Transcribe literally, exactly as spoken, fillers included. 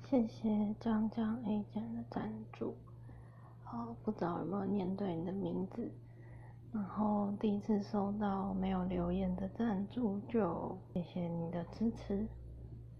谢谢江江 A 减的赞助。好，不知道有没有念对你的名字。然后第一次收到没有留言的赞助，就谢谢你的支持。